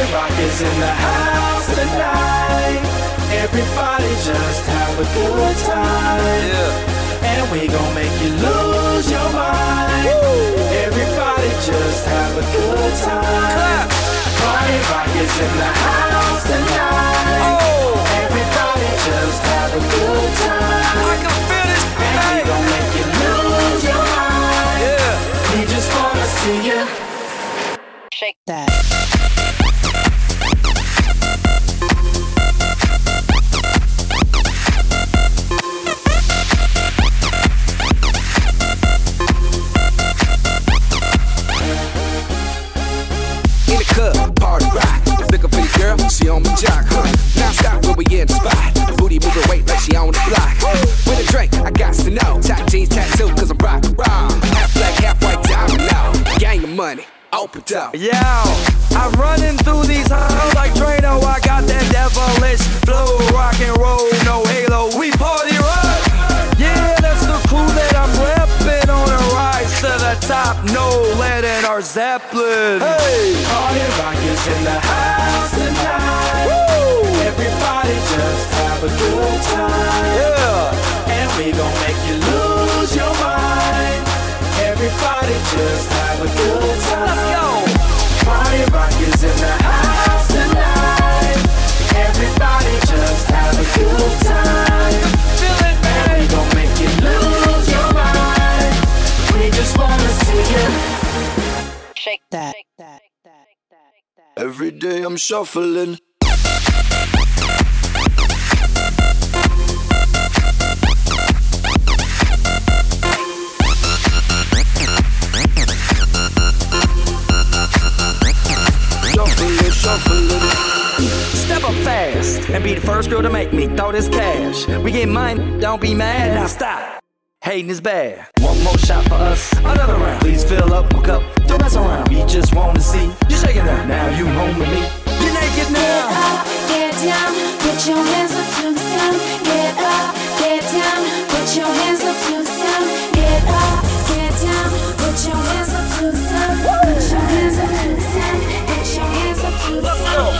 Rock is in the house tonight. Everybody just have a good time. Yeah. And we gon' make you lose your mind. Woo. Everybody just have a good time. Clap. Party Rock is in the house tonight. Oh. Everybody just have a good time. I can feel this tonight. And we gon' make you lose your mind. Yeah. We just wanna see you shake that. In the club, party rock. Looking for your girl, she on my jock, huh? Now stop when we in the spot. Booty moving weight like she on the block. With a drink, I got to know. Top jeans tattoo, cause I'm rock, raw. Half black, half white diamond now. Gang of money, open up. Yo, I'm running through these halls like Drano. I got that devilish flow, rock and roll, no halo. We party rock. Yeah, that's the crew that I'm reppin' on a rise to the top. No lead in our Zeppelin. Hey, Party Rock is in the house tonight. Woo! Everybody just have a good time. yeah. And we gon' make you lose your mind. Everybody just have a good time. Let's go. Party Rock is in the house tonight. Everybody just have a good time. Feel it, And we man. gon' make you lose your mind. We just wanna see you Shake that. Every day I'm shuffling. Shuffling. Step up fast and be the first girl to make me throw this cash. We get mine, don't be mad. Now stop. Hating is bad. One more shot for us, another round. Please fill up my cup, don't mess around. We just wanna see you shaking that. Now you home with me. You're naked now. Get up, get down, put your hands up to the sound. Get up, get down, put your hands up to the sound. Get up, get down, put your hands up to the sound. Put your hands up to the sound. Put your hands up to the sound.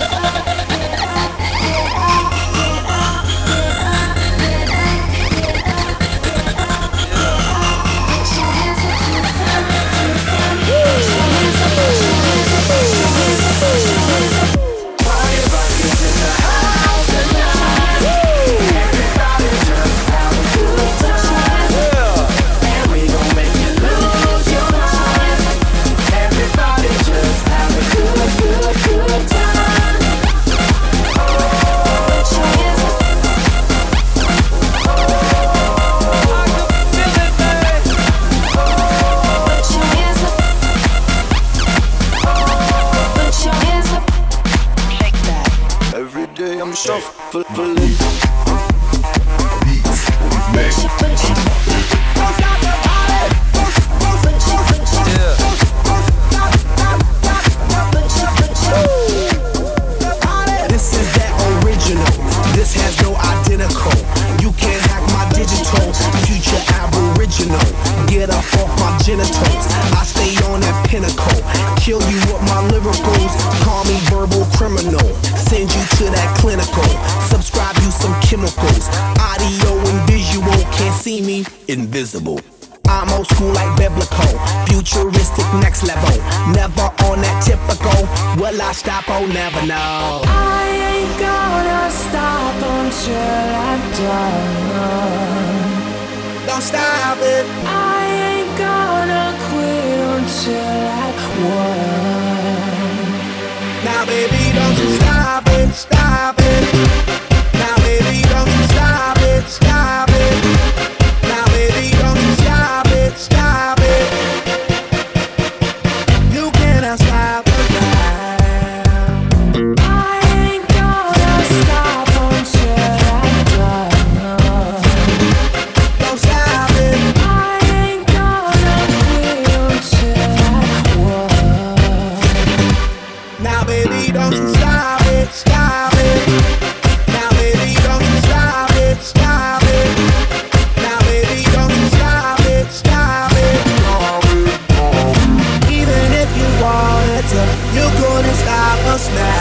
Party Rock is in the house tonight. Everybody just have a good time. And we gon' make you lose your mind. Everybody just have a good time. Put your hands up. Feel it, man. Put your hands up. Put your hands up. Shake that. Every day I'm shuffling. This is that original. This has no identical. You can't hack my digital. Future aboriginal. Get up off my genitals. I stay on that pinnacle. Kill you with my lyricals. Call me verbal criminal. Send you to that clinical. Subscribe you some chemicals. Audio and visual. Can't see me. Invisible. I'm old school like biblical, futuristic next level. Never on that typical. Will I stop? Oh, never know. I ain't gonna stop until I'm done. Don't stop it. I ain't gonna quit until I won. Now, baby, don't you stop it, stop it. Now, baby, don't you stop it, stop it. Now, baby, don't you stop it, stop it. You cannot stop it now. I ain't gonna stop until I'm done. Don't stop it. I ain't gonna quit until I won. Now, baby, don't you stop it, stop it. Now, baby, don't you stop it, stop it. Now, baby, don't you stop it, stop it. Even if you wanted to, you couldn't stop us now.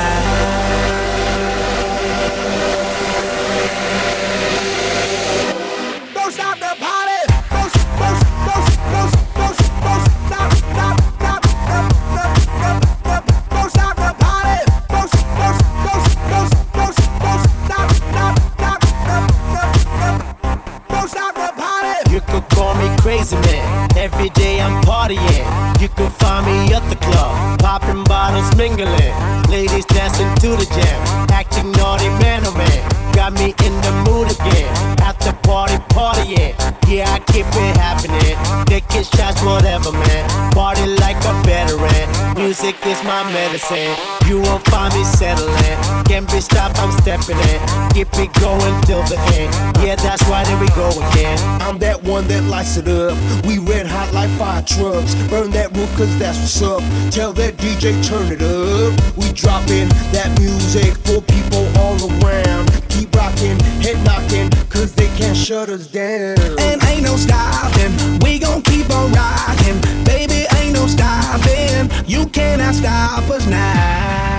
wiggling. Ladies dancing to the jam, acting naughty, man, oh man. Got me in the mood again. After party, partying. Yeah, I keep it happening. Taking shots, whatever, man. Party like a veteran. Music is my medicine. You won't find me settling. Can't be stopped, I'm stepping in. Keep it going till the end. Yeah, that's why there we go again. I'm that one that lights it up. We red hot like fire trucks. Burn that roof cause that's what's up. Tell that DJ turn it up. We dropping that music for people all around. Keep rocking, head knocking, cause they can't shut us down. And ain't no stopping, we gon' keep on rocking. Baby, ain't no stopping, you cannot stop us now.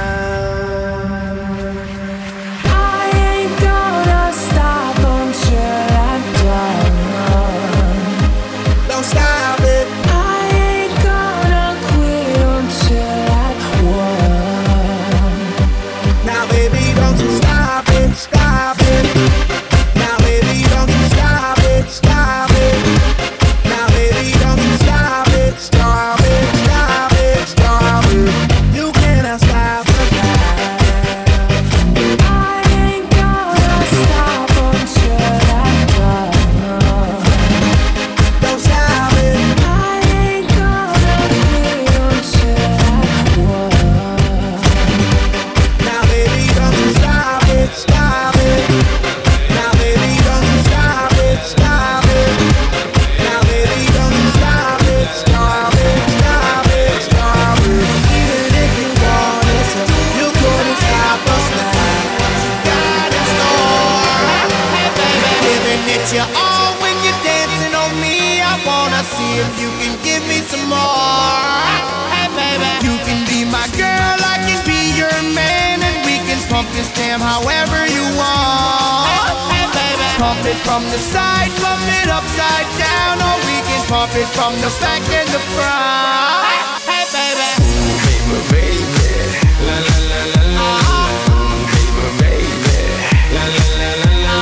I ain't gonna stop until I'm done. Don't stop it. I ain't gonna quit until I've won. Now baby, don't you stop it, stop it. Now baby, don't you stop it, stop it. Now baby, don't you stop it, stop it, stop it, stop it. You cannot stop us now. I ain't gonna stop until I'm done. Don't stop it. I ain't gonna quit until I've won. Now baby, don't you stop it, stop it. Now baby, don't you stop it, stop it. Now baby, don't you stop it, stop it, stop it, stop it. Even if you want it, you couldn't stop us now. Got in store, hey baby, giving it your all when you're dancing on me. I wanna see if you can give me some more. Hey baby, you can be my girl, I can be your man, and we can pump this jam however you want. Hey baby, pump it from the side, pump it upside down, or we can pump it from the back and the front. Hey baby, Baby, baby, la la la la la. Baby, baby, la la la la la.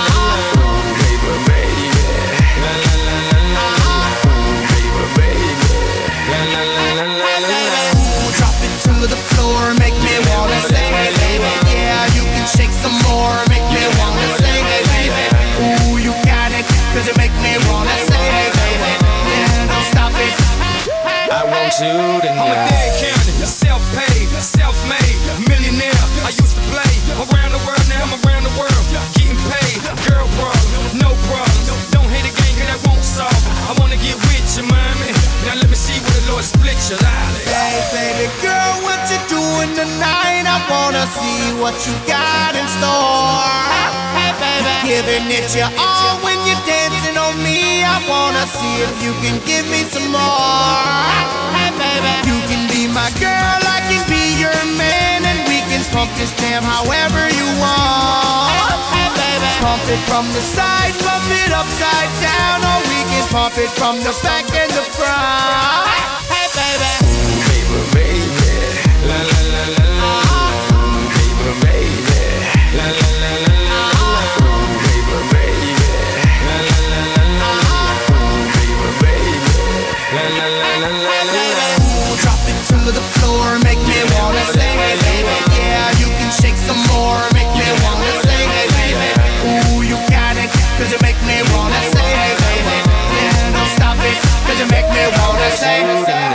Baby, baby, la la la la la. Baby, baby, la la la la la la. drop it to the floor, make me wanna sing it, baby. Yeah, you can shake some more, make me wanna sing it, baby. Ooh, you got it, cause you make me wanna sing it, baby. Yeah, don't stop it. I want you tonight. I'm a dead county, self-paid, self-made, millionaire. I used to play around the world, now I'm around the world, getting paid. Girl problems, no problems. Don't hate a game, cause that won't solve it. I wanna get with you, mommy. Now let me see where the Lord split your lolly. Hey, baby girl, what you doing tonight? I wanna see what you got in store. Hey, baby, giving it your all when you're dancing on me. I wanna see if you can give me some more. Hey, baby, you can be my girl, I can be your man, and we can pump this jam however you want. Hey, baby, pump it from the side, pump it upside down, or we can pump it from the back and the front. Hey, baby. Baby, baby, la la la la la. Baby, baby, la la la la la. Baby, baby, la la la la la. Baby, baby, la la la la la. Drop it to the floor, make me wanna sing it, baby. Yeah, you can shake some more, make me wanna sing it, baby. Ooh, you got it, cause you make me wanna sing it, baby. Yeah, don't stop it, cause you make me wanna sing it.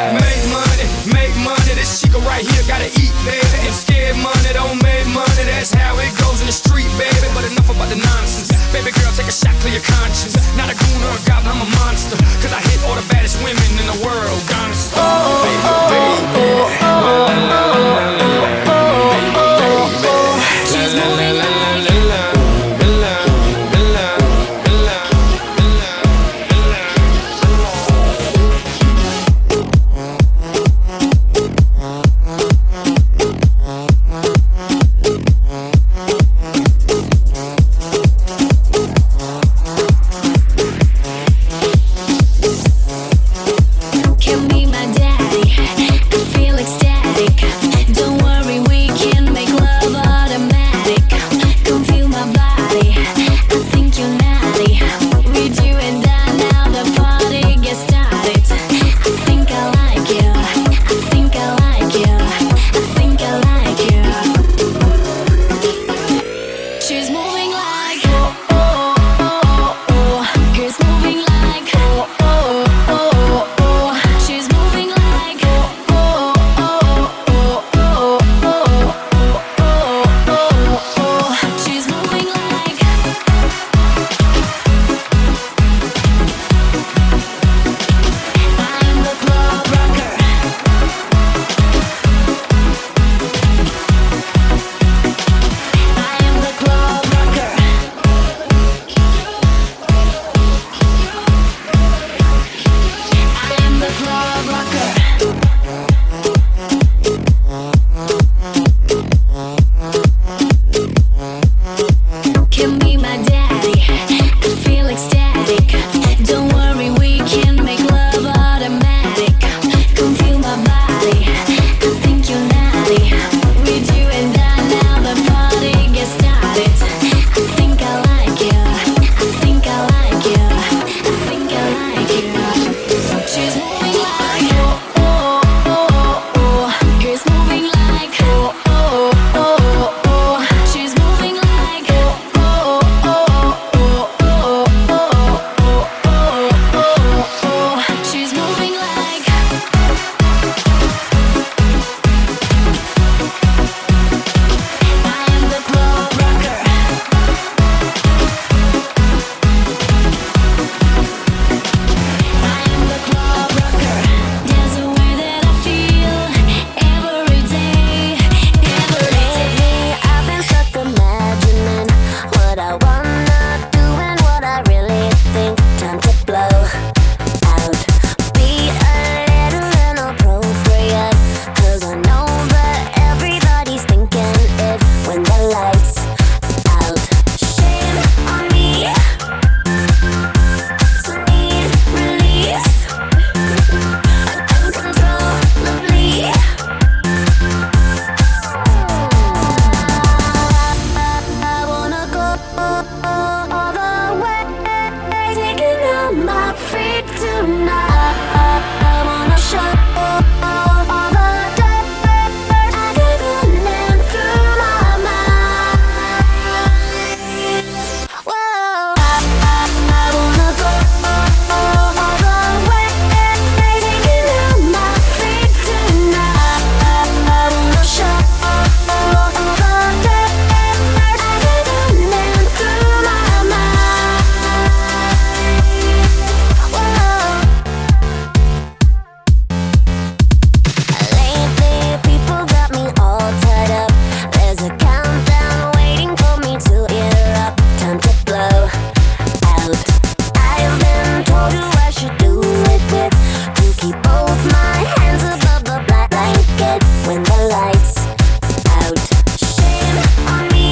lights out. Shame on me.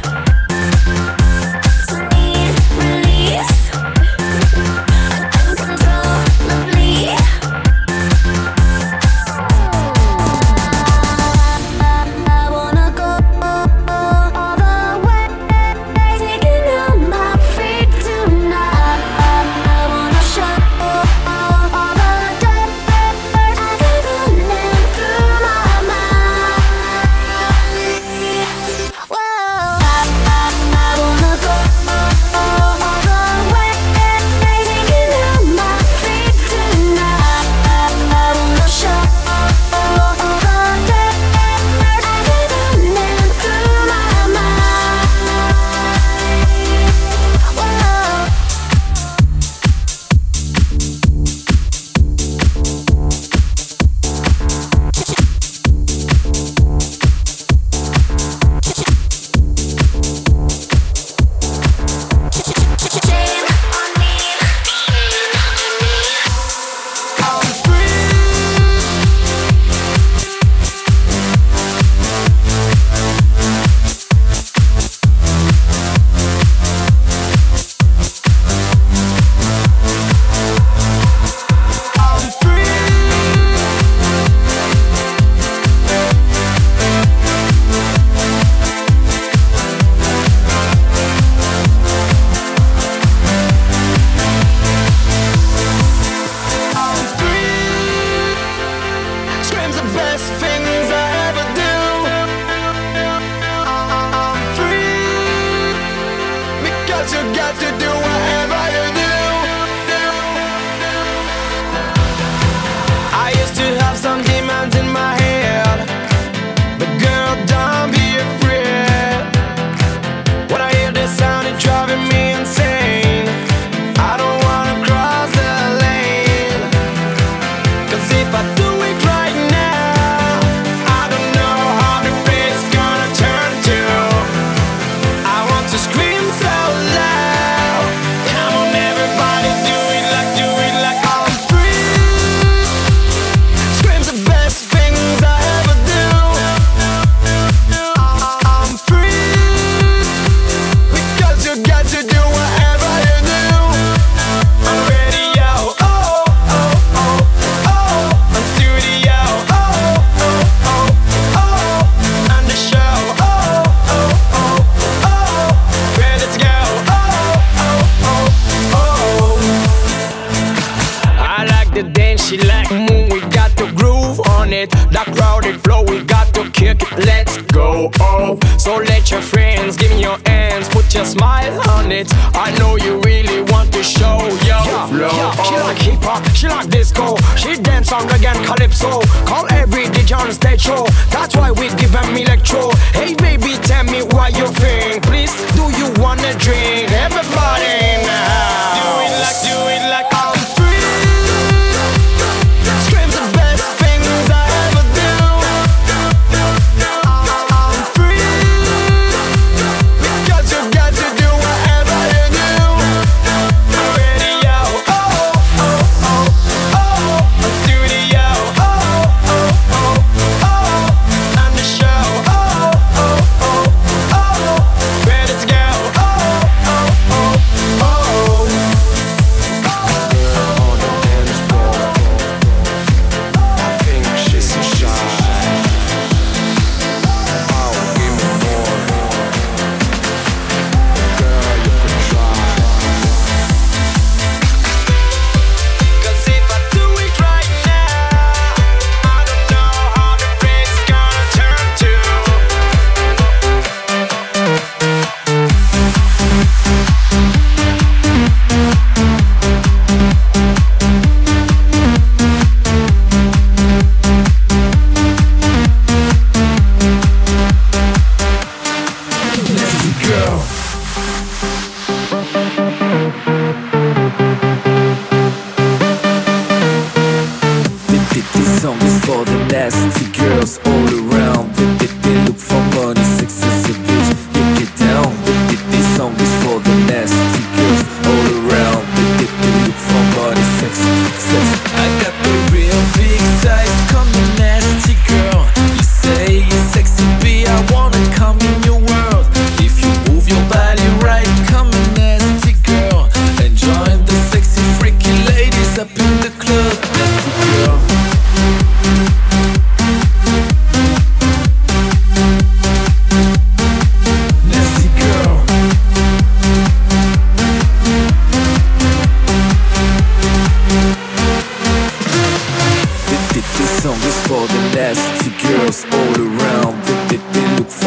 To need release. Uncontrollably. I wanna go all the way, taking out my feet tonight. I wanna show all the dirt I've ever lived through my mind. Whoa, I wanna go all the way, taking out my feet tonight. I wanna show all the dirt I've ever lived through my mind. Whoa. Shame on me. I'm free. I'm free. I'm free. Screams the best things I ever do. I'm free because you got to do whatever you do. I used to have some demons in my head, but girl, don't be afraid. When I hear this sound, it's driving me insane. I don't wanna cross the lane, 'cause if I do it right now, I don't know how the fate's gonna turn to. I want to scream so loud. Come on, everybody, do it like I'm free. Screams the best things I ever do. I'm free because you got to do whatever you do. On radio, oh, oh, oh, oh. On studio, oh, oh, oh, oh. On the show, oh, oh, oh, oh. Ready to go, oh, oh, oh, oh. I like the dance, she like the move, we got to groove on it. That crowded flow, we got to kick it, let's go, oh. So let your friends give me your hands, put your smile on it. I know you really want to show your flow. She like hip hop, she like disco, she dance on reggae and calypso. Call every DJ on stage show, that's why we give them electro. Hey baby, tell me what you think, please, do you wanna drink? Everybody now, do it like I'm free. Screams the best things I ever do. I'm free because you got to do whatever you do. On radio, oh, oh, oh, oh. On studio, oh, oh, oh, oh. On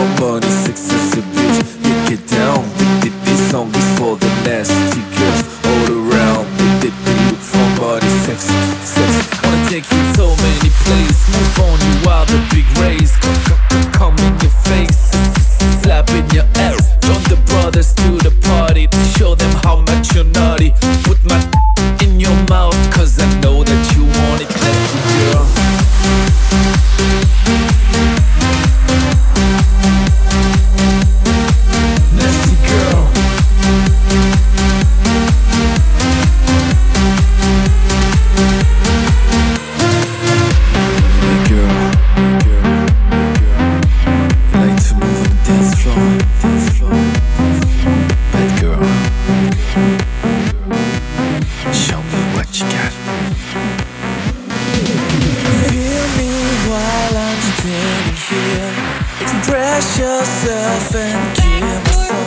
Somebody sexy bitch, you get down. This song is for the nasty girls all around. Look for body sexy. Wanna take you so many places. Move on you while the big race. Come in your face, slap in your ass. Join the brothers to the party to show them how much you're naughty. Put my in your mouth, cause I know that you want it, nasty girl. Nasty girl. Hey girl, like to move on the dance floor. Bad girl, show me what you got. Feel me while I'm standing here. Express yourself and give me some.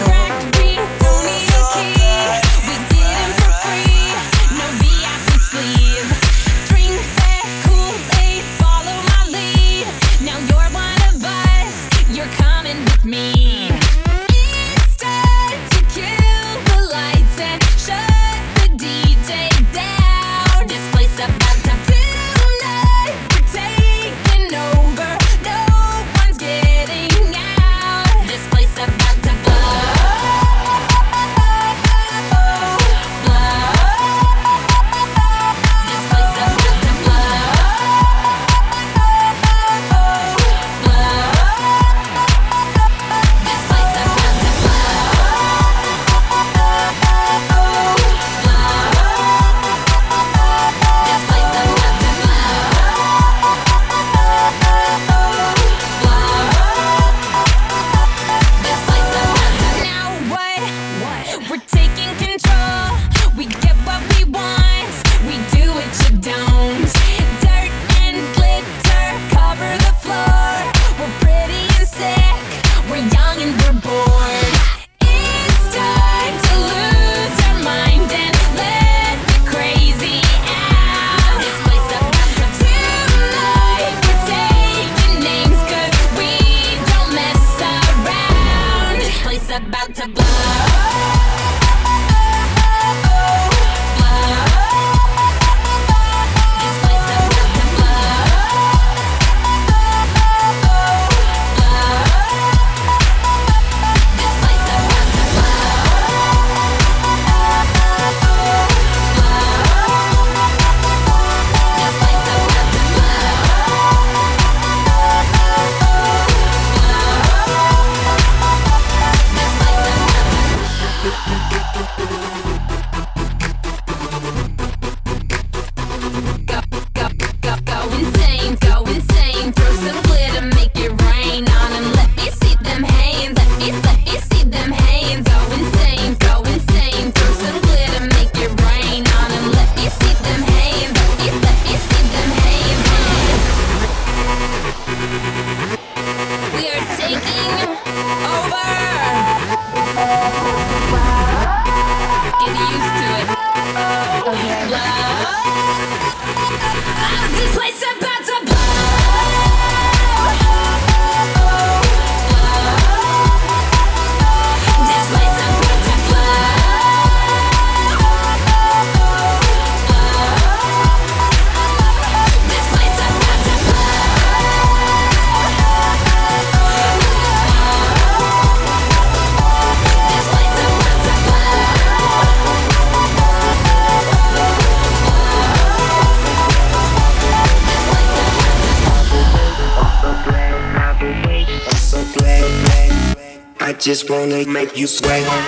Just wanna make you sweat. I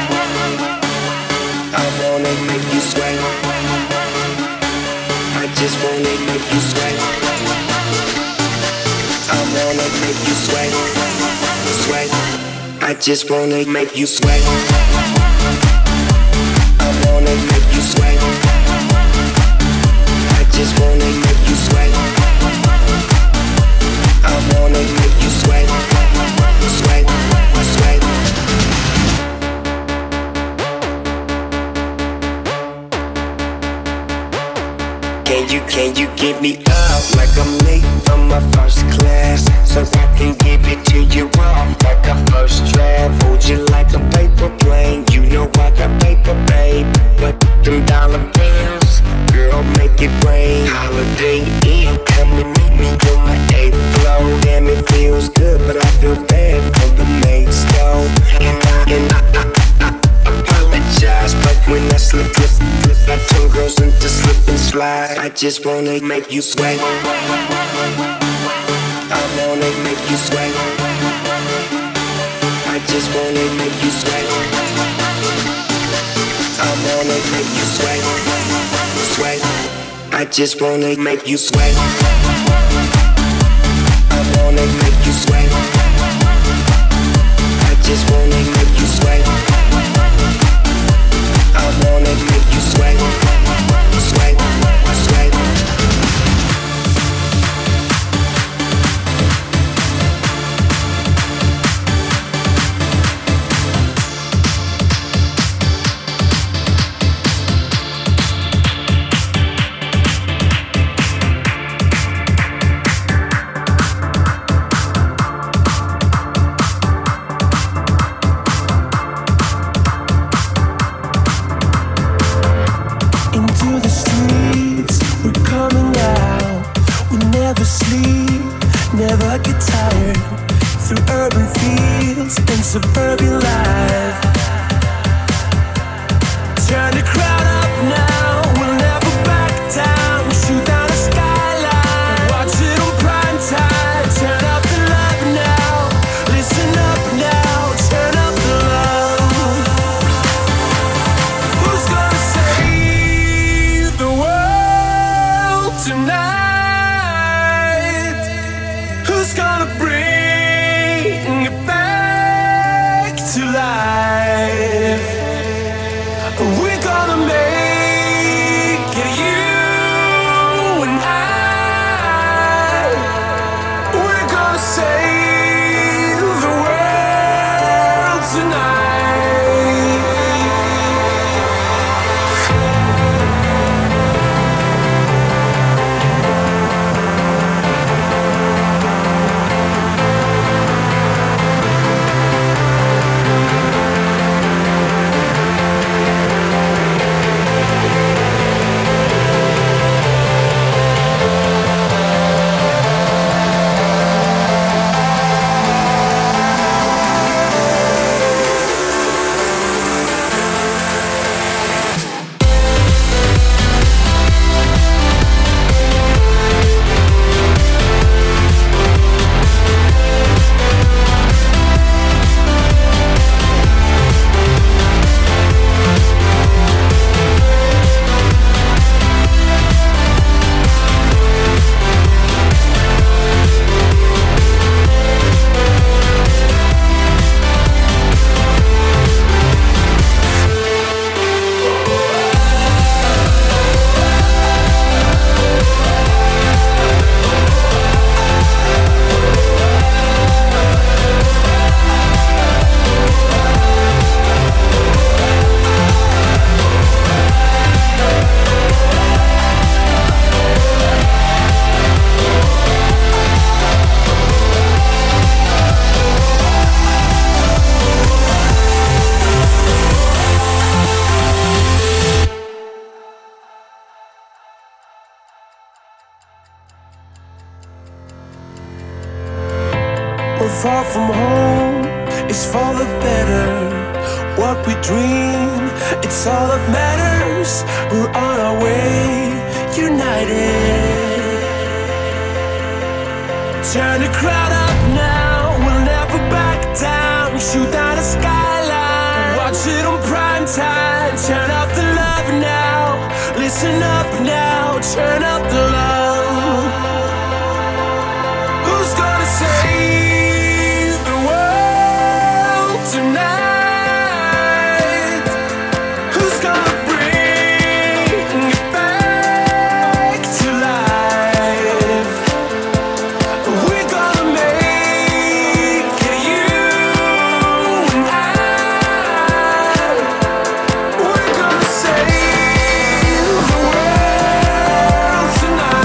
wanna make you sweat. I just wanna make you sweat. I wanna make you sweat. Sweat. I just wanna make you sweat. I wanna make you sweat. I just wanna make you sweat. I wanna make you sweat. Sweat. Sweat. Can you give me up like I'm late from my first class, so I can give it to you off? I just wanna make you sweat. I wanna make you sweat. I just wanna make you sweat. I wanna make you sweat. Sweat. I just wanna make you sweat. I wanna make you sweat. I just wanna make you sweat. I wanna make you sweat. Sweat. Sweat. Never get tired through urban fields and suburban life. Turn the crowd up now, we'll never back down. Shoot down the skyline, watch it on prime time. Turn up the love now, listen up now. Turn up the love. Who's gonna save the world tonight? Who's gonna bring it back to life? We're gonna make it, you and I. We're gonna save the world tonight. We're far from home, it's for the better. What we dream, it's all that matters. We're on our way, united. Turn the crowd up now, we'll never back down. Shoot down the skyline, watch it on prime time. Turn up the love now, listen up now. Turn up the love. Who's gonna save the world tonight? Who's gonna bring it back to life? We're gonna make it, you and I. We're gonna save the world tonight.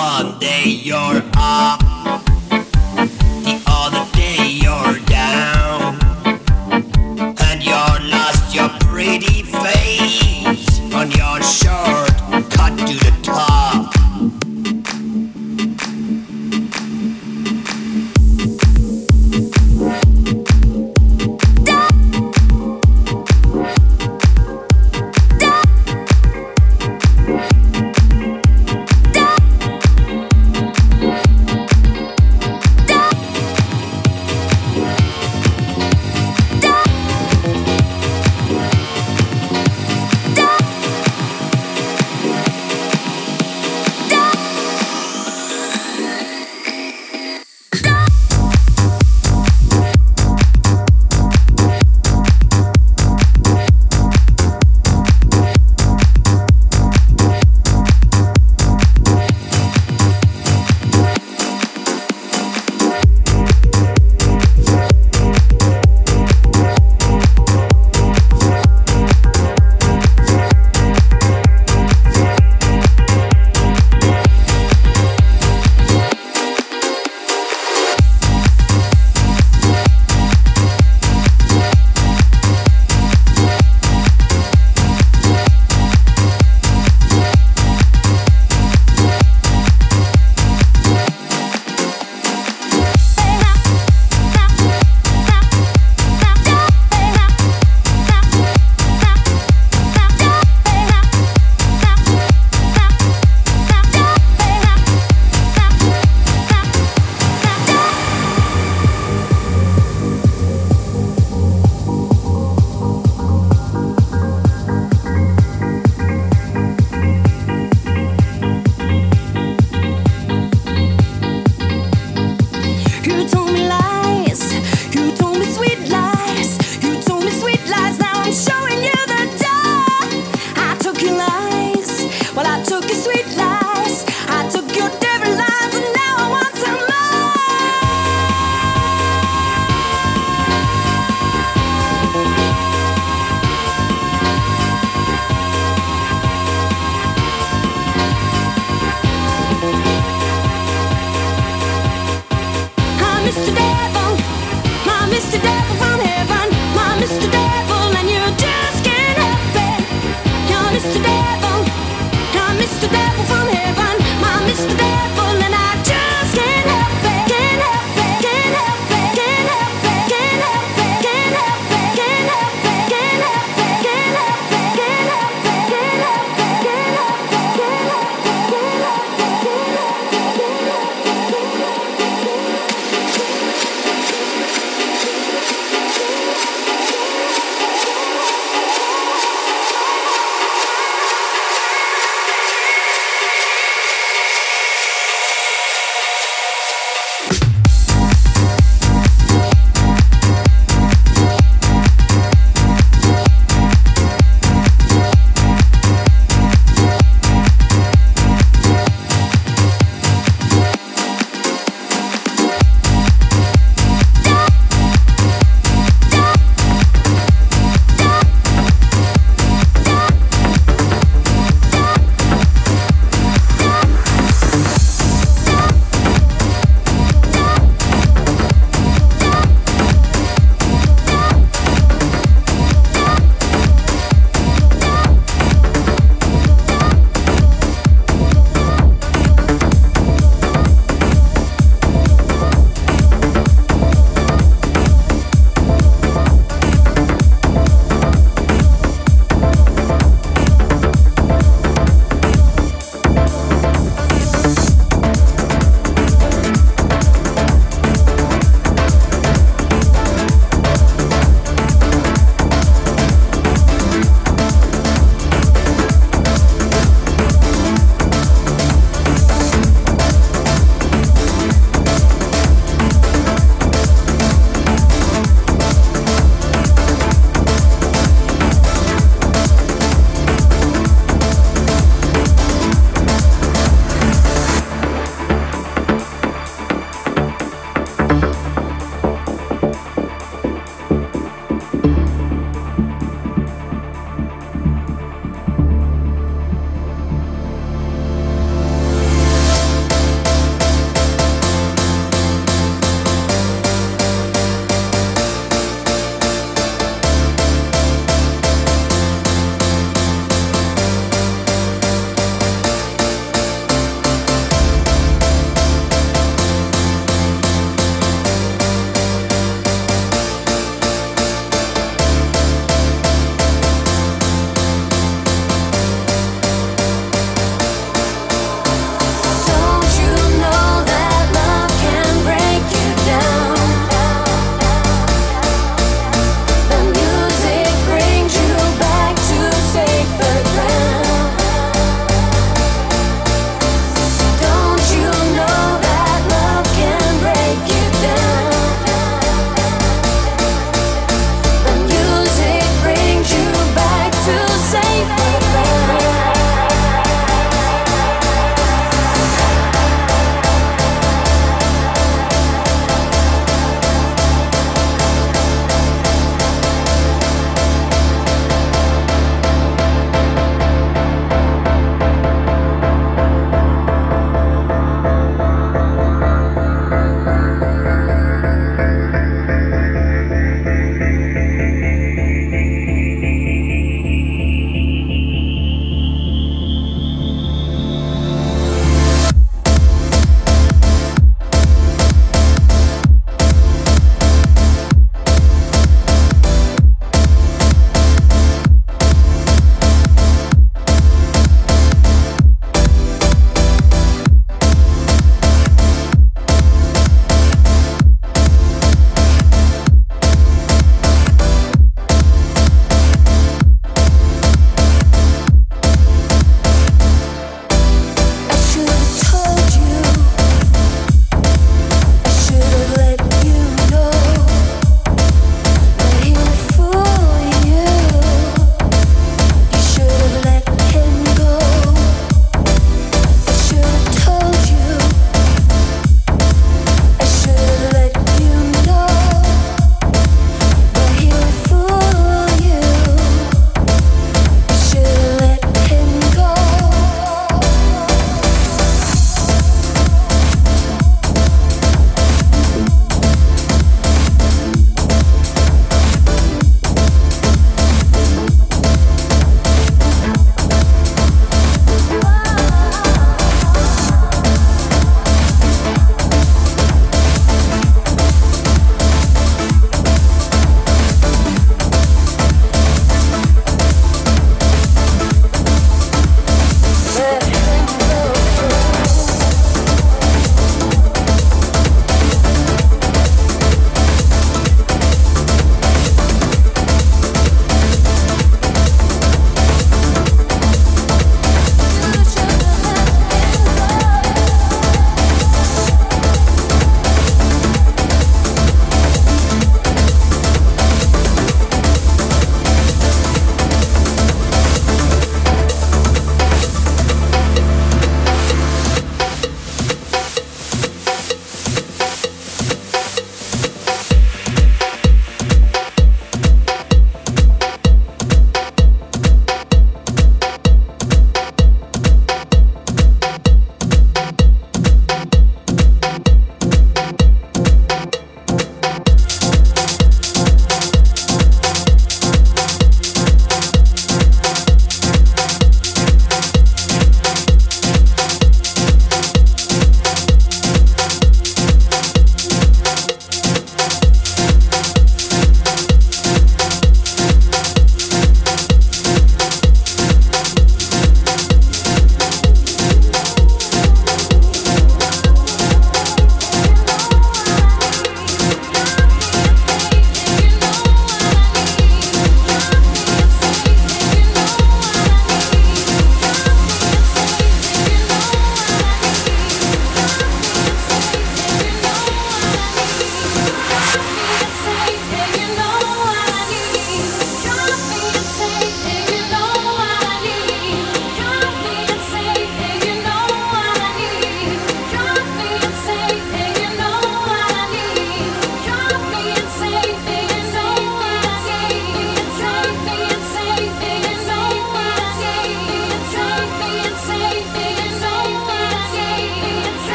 One day you're up, the other day you're down, and you're lost your pretty face on your shirt cut to the top.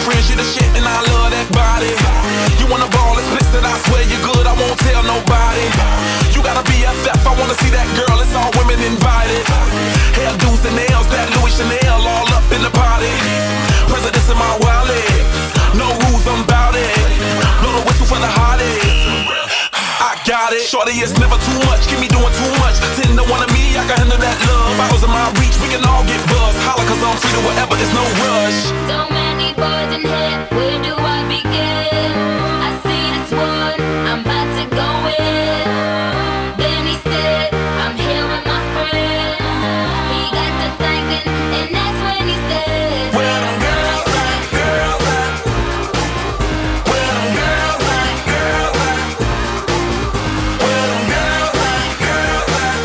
friends, you the shit and I love that body. You wanna ball explicit, I swear you're good, I won't tell nobody. You gotta be FF, I wanna see that girl, it's all women invited. Hairdos and nails, that Louis Chanel all up in the party. Presidents in my wallet, no rules, I'm bout it. Blow the whistle for the hottie. I got it. Shorty, it's never too much. Keep me doing too much. 10 to 1 of me, I can handle that love. Bottles in my reach, we can all get buzzed. Holla, cause I'm free to whatever, there's no rush. So many boys in here, where do I begin? I see this one, I'm about to go in. Then he said, I'm here with my friends. He got to thinking, and that's when he said, where them girls at, girls at? Where them girls at, girls at? Where them girls at, girls at?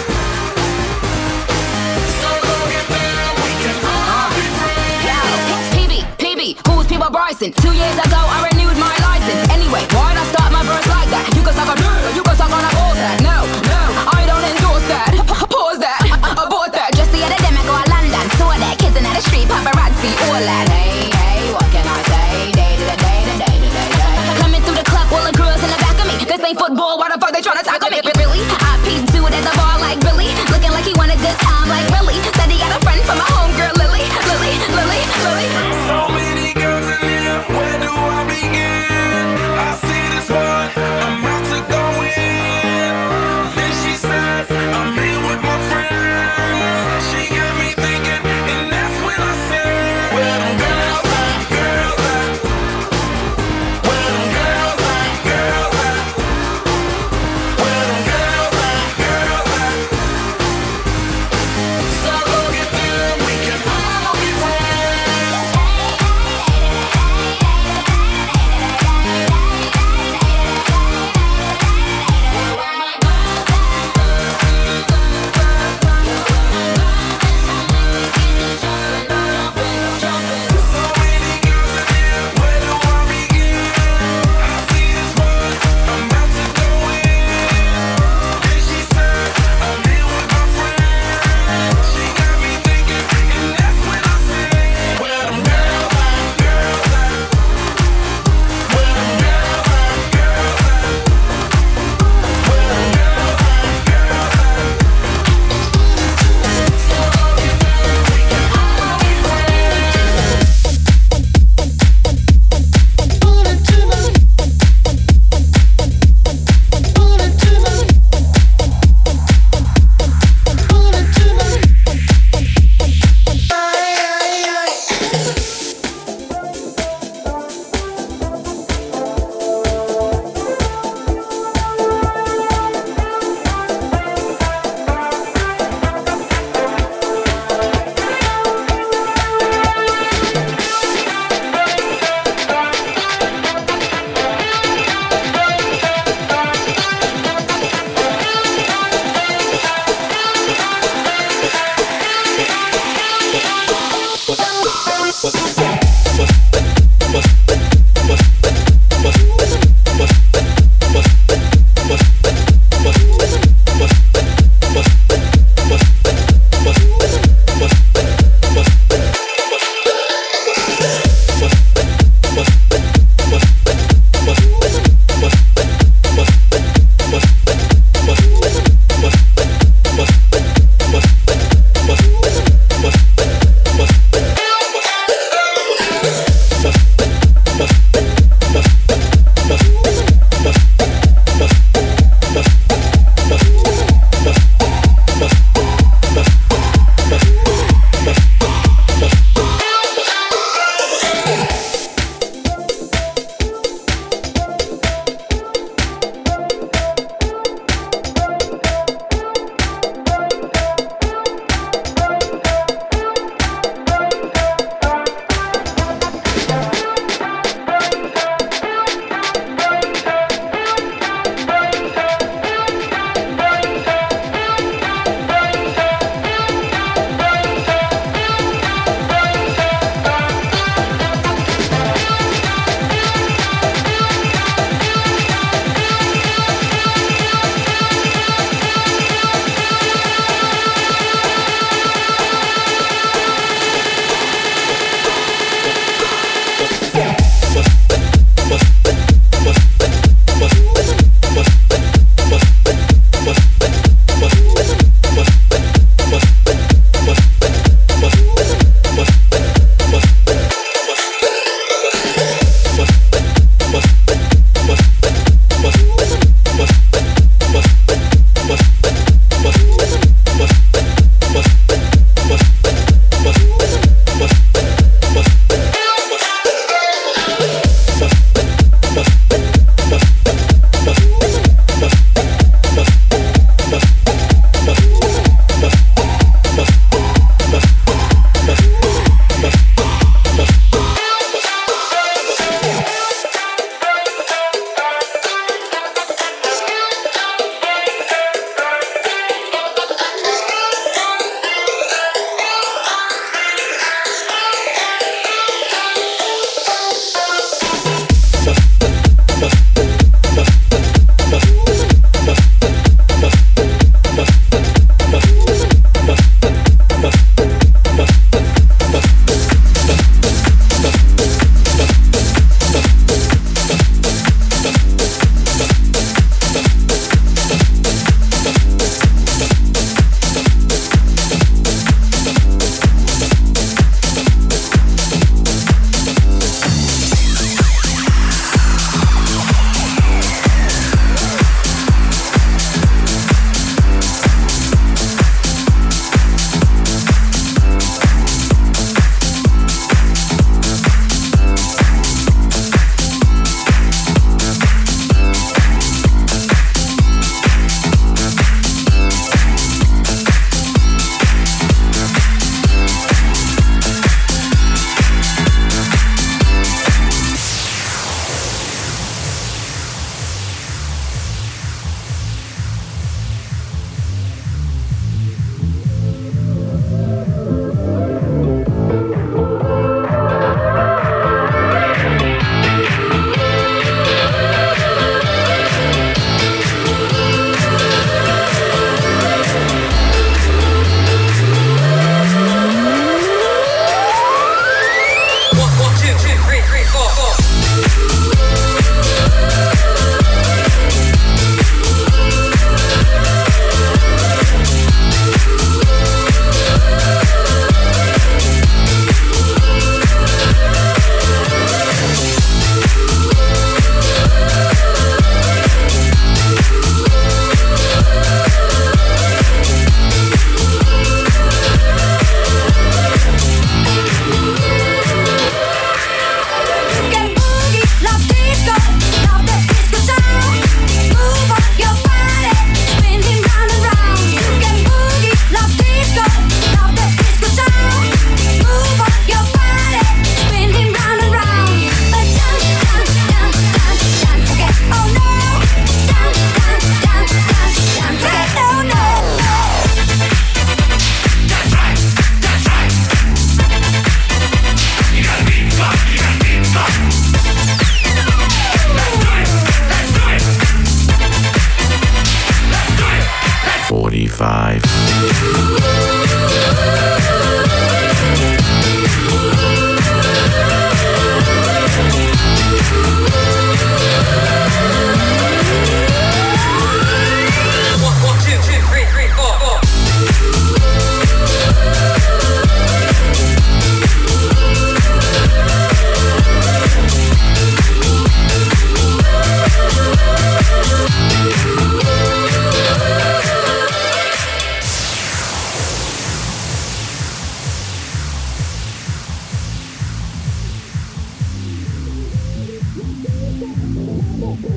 So go get down, we can all be friends. Yo, PB, who's People Bryson? 2 years ago, I renewed my license. Anyway, why'd I start my verse like that? You can suck on dirt, you can suck on a bullsack. No, I don't endorse that. Pause that, abort that. Just the other day, I go to London, saw that kids in the street, paparazzi, all that. Hey, what can I say? Day to day. Coming through the club, all the girls in the back of me. This ain't football, why the fuck they tryna tackle me? Really? I peeped dude at the bar like Billy, looking like he want a good time like Billy. Said he got a friend from my homegirl Lily. So many girls in here, where do I begin? I see this one, I'm about to go in.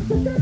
Bye.